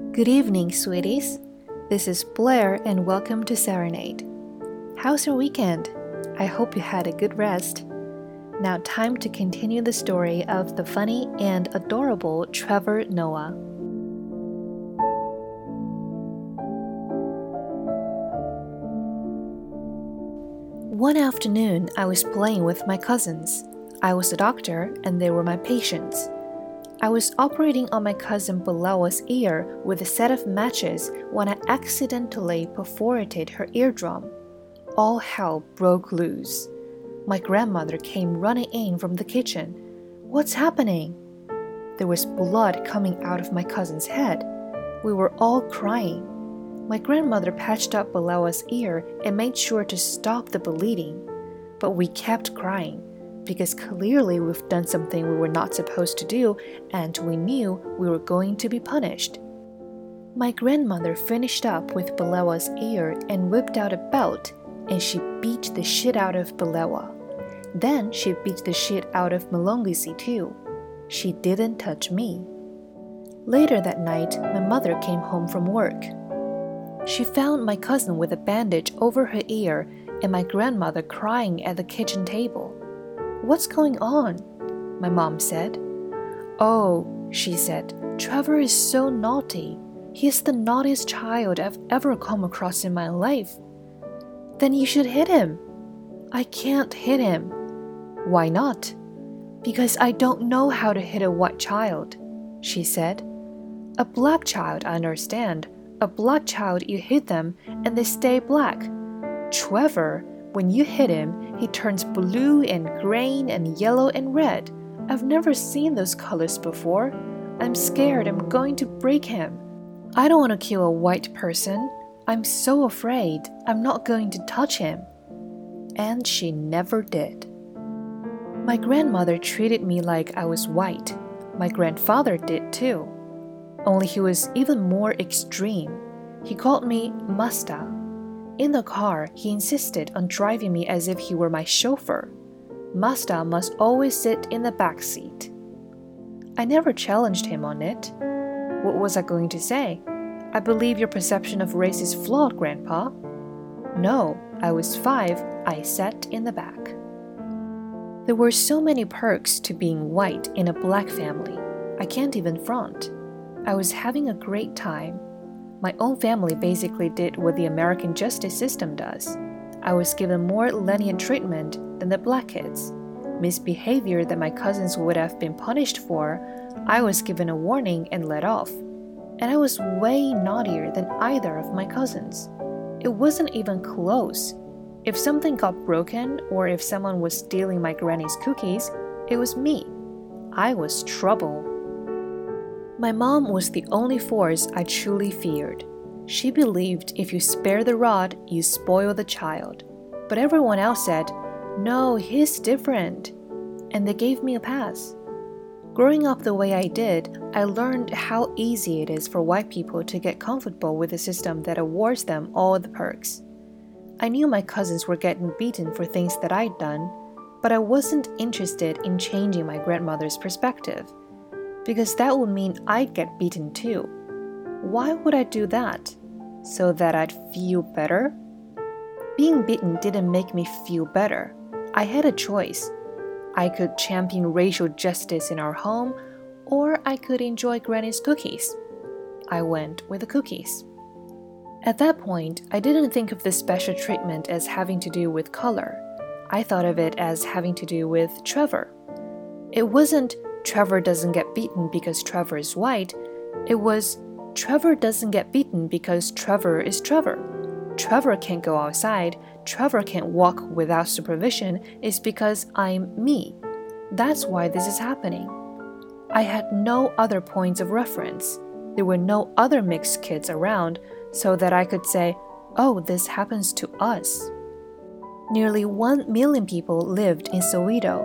Good evening, sweeties. This is Blair and welcome to Serenade. How's your weekend? I hope you had a good rest. Now time to continue the story of the funny and adorable Trevor Noah. One afternoon, I was playing with my cousins. I was a doctor and they were my patients. I was operating on my cousin Balawa's ear with a set of matches when I accidentally perforated her eardrum. All hell broke loose. My grandmother came running in from the kitchen. "What's happening?" There was blood coming out of my cousin's head. We were all crying. My grandmother patched up Balawa's ear and made sure to stop the bleeding. But we kept crying, because clearly we've done something we were not supposed to do and we knew we were going to be punished. My grandmother finished up with Balawa's ear and whipped out a belt and she beat the shit out of Balawa. Then she beat the shit out of Malongisi too. She didn't touch me. Later that night, my mother came home from work. She found my cousin with a bandage over her ear and my grandmother crying at the kitchen table. "What's going on?" my mom said. "Oh," she said, "Trevor is so naughty. He is the naughtiest child I've ever come across in my life." "Then you should hit him." "I can't hit him." "Why not?" "Because I don't know how to hit a white child," she said. "A black child, I understand. A black child, you hit them and they stay black. Trevor, when you hit him, he turns blue and green and yellow and red. I've never seen those colors before. I'm scared I'm going to break him. I don't want to kill a white person. I'm so afraid I'm not going to touch him." And she never did. My grandmother treated me like I was white. My grandfather did too. Only he was even more extreme. He called me Masta. In the car, he insisted on driving me as if he were my chauffeur. Masta must always sit in the back seat. I never challenged him on it. What was I going to say? "I believe your perception of race is flawed, Grandpa." No, I was 5, I sat in the back. There were so many perks to being white in a black family. I can't even front. I was having a great time. My own family basically did what the American justice system does. I was given more lenient treatment than the black kids. Misbehavior that my cousins would have been punished for, I was given a warning and let off. And I was way naughtier than either of my cousins. It wasn't even close. If something got broken or if someone was stealing my granny's cookies, it was me. I was trouble. My mom was the only force I truly feared. She believed if you spare the rod, you spoil the child. But everyone else said, "No, he's different." And they gave me a pass. Growing up the way I did, I learned how easy it is for white people to get comfortable with a system that awards them all the perks. I knew my cousins were getting beaten for things that I'd done, but I wasn't interested in changing my grandmother's perspective. Because that would mean I'd get beaten too. Why would I do that? So that I'd feel better? Being beaten didn't make me feel better. I had a choice. I could champion racial justice in our home, or I could enjoy Granny's cookies. I went with the cookies. At that point, I didn't think of the special treatment as having to do with color. I thought of it as having to do with Trevor. It wasn't Trevor doesn't get beaten because Trevor is white. It was Trevor doesn't get beaten because Trevor is Trevor. Trevor can't go outside. Trevor can't walk without supervision is because I'm me. That's why this is happening. I had no other points of reference. There were no other mixed kids around so that I could say, "Oh, this happens to us." Nearly 1 million people lived in Soweto.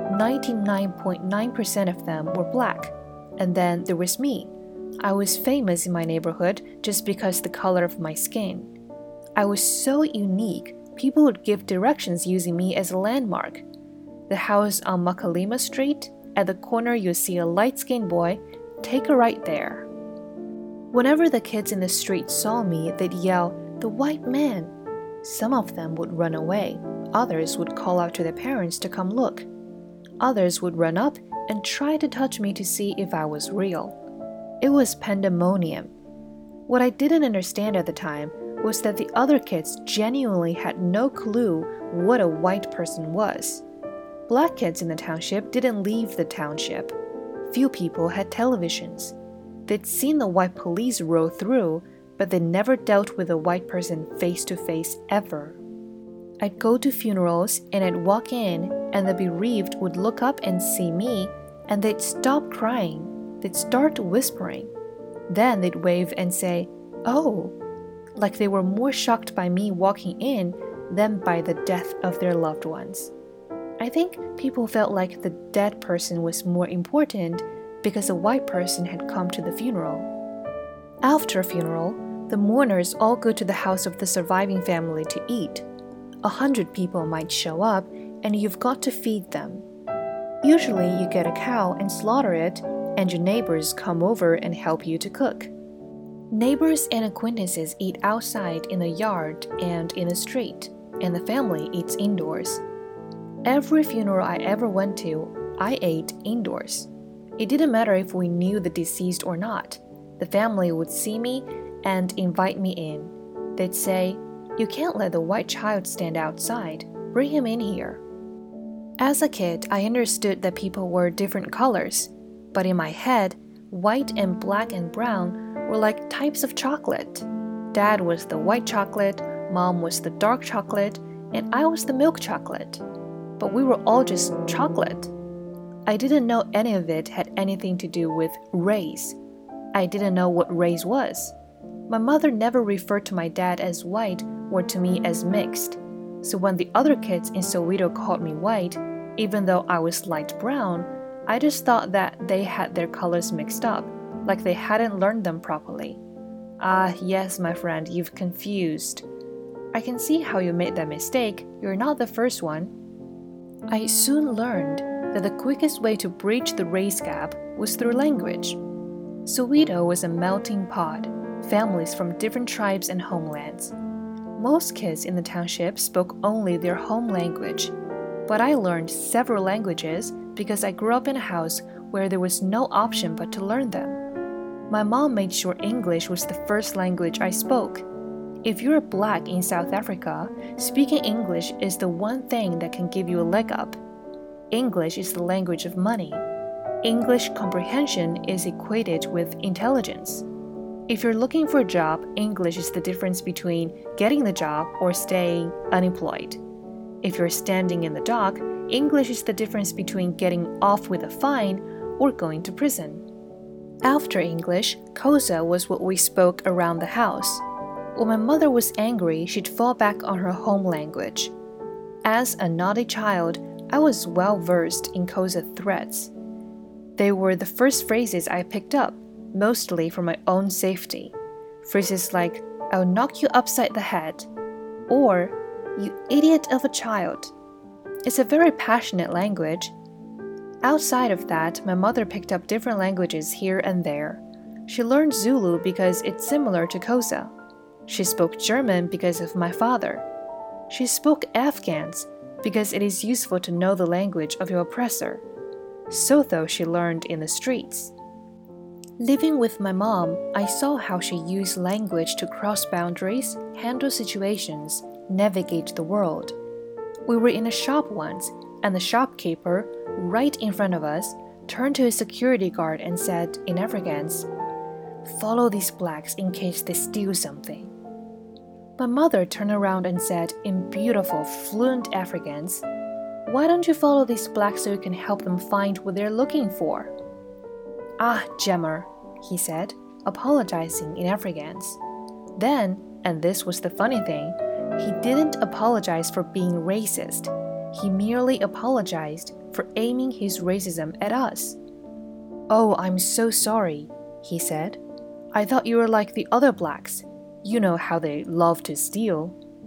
99.9% of them were black. And then there was me. I was famous in my neighborhood just because the color of my skin. I was so unique, people would give directions using me as a landmark. The house on Makalima Street, at the corner you'll see a light-skinned boy, take a right there. Whenever the kids in the street saw me, they'd yell, "The white man!" Some of them would run away. Others would call out to their parents to come look. Others would run up and try to touch me to see if I was real. It was pandemonium. What I didn't understand at the time was that the other kids genuinely had no clue what a white person was. Black kids in the township didn't leave the township. Few people had televisions. They'd seen the white police roll through, but they never dealt with a white person face to face ever. I'd go to funerals and I'd walk in, and the bereaved would look up and see me, and they'd stop crying. They'd start whispering. Then they'd wave and say, "Oh," like they were more shocked by me walking in than by the death of their loved ones. I think people felt like the dead person was more important because a white person had come to the funeral. After a funeral, the mourners all go to the house of the surviving family to eat. 100 people might show up, and you've got to feed them. Usually you get a cow and slaughter it, and your neighbors come over and help you to cook. Neighbors and acquaintances eat outside in the yard and in the street, and the family eats indoors. Every funeral I ever went to, I ate indoors. It didn't matter if we knew the deceased or not. The family would see me and invite me in. They'd say, "You can't let the white child stand outside. Bring him in here." As a kid, I understood that people were different colors, but in my head, white and black and brown were like types of chocolate. Dad was the white chocolate, Mom was the dark chocolate, and I was the milk chocolate. But we were all just chocolate. I didn't know any of it had anything to do with race. I didn't know what race was. My mother never referred to my dad as white or to me as mixed. So when the other kids in Soweto called me white, even though I was light brown, I just thought that they had their colors mixed up, like they hadn't learned them properly. Ah, yes, my friend, you've confused. I can see how you made that mistake. You're not the first one. I soon learned that the quickest way to bridge the race gap was through language. Soweto was a melting pot, families from different tribes and homelands. Most kids in the township spoke only their home language, but I learned several languages because I grew up in a house where there was no option but to learn them. My mom made sure English was the first language I spoke. If you're black in South Africa, speaking English is the one thing that can give you a leg up. English is the language of money. English comprehension is equated with intelligence. If you're looking for a job, English is the difference between getting the job or staying unemployed. If you're standing in the dock, English is the difference between getting off with a fine or going to prison. After English, Xhosa was what we spoke around the house. When my mother was angry, she'd fall back on her home language. As a naughty child, I was well versed in Xhosa threats. They were the first phrases I picked up, mostly for my own safety. Phrases like, "I'll knock you upside the head," or "You idiot of a child." It's a very passionate language. Outside of that, my mother picked up different languages here and there. She learned Zulu because it's similar to Xhosa. She spoke German because of my father. She spoke Afghans because it is useful to know the language of your oppressor. Sotho she learned in the streets. Living with my mom, I saw how she used language to cross boundaries, handle situations, navigate the world. We were in a shop once, and the shopkeeper, right in front of us, turned to his security guard and said in Afrikaans, "Follow these blacks in case they steal something." My mother turned around and said in beautiful, fluent Afrikaans, "Why don't you follow these blacks so you can help them find what they're looking for?" "Ah, Jammer," he said, apologizing in Afrikaans. Then, and this was the funny thing, he didn't apologize for being racist. He merely apologized for aiming his racism at us. "Oh, I'm so sorry," he said. "I thought you were like the other blacks. You know how they love to steal."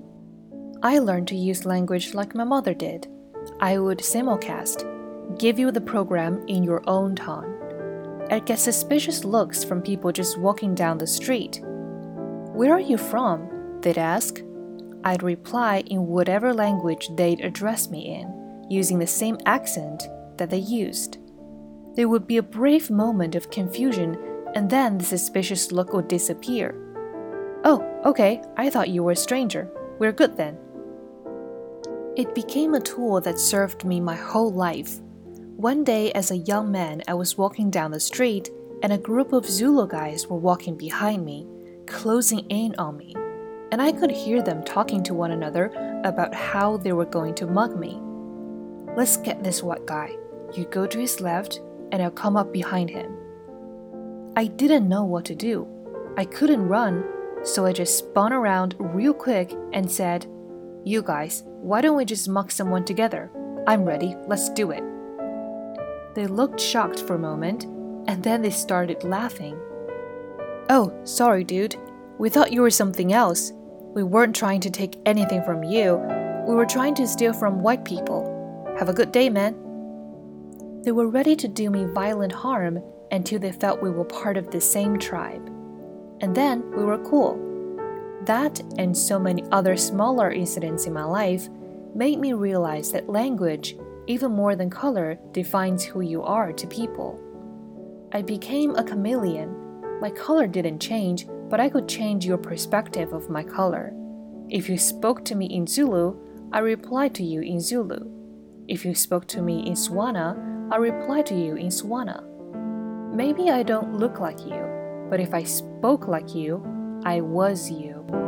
I learned to use language like my mother did. I would simulcast, give you the program in your own tongue. I'd get suspicious looks from people just walking down the street. "Where are you from?" they'd ask. I'd reply in whatever language they'd address me in, using the same accent that they used. There would be a brief moment of confusion, and then the suspicious look would disappear. "Oh, okay, I thought you were a stranger. We're good then." It became a tool that served me my whole life. One day, as a young man, I was walking down the street, and a group of Zulu guys were walking behind me, closing in on me, and I could hear them talking to one another about how they were going to mug me. "Let's get this white guy. You go to his left, and I'll come up behind him." I didn't know what to do. I couldn't run, so I just spun around real quick and said, "You guys, why don't we just mug someone together? I'm ready, let's do it." They looked shocked for a moment, and then they started laughing. "Oh, sorry dude, we thought you were something else. We weren't trying to take anything from you. We were trying to steal from white people. Have a good day, man." They were ready to do me violent harm until they felt we were part of the same tribe. And then we were cool. That and so many other smaller incidents in my life made me realize that language, even more than color, defines who you are to people. I became a chameleon. My color didn't change, but I could change your perspective of my color. If you spoke to me in Zulu, I replied to you in Zulu. If you spoke to me in Swana, I replied to you in Swana. Maybe I don't look like you, but if I spoke like you, I was you.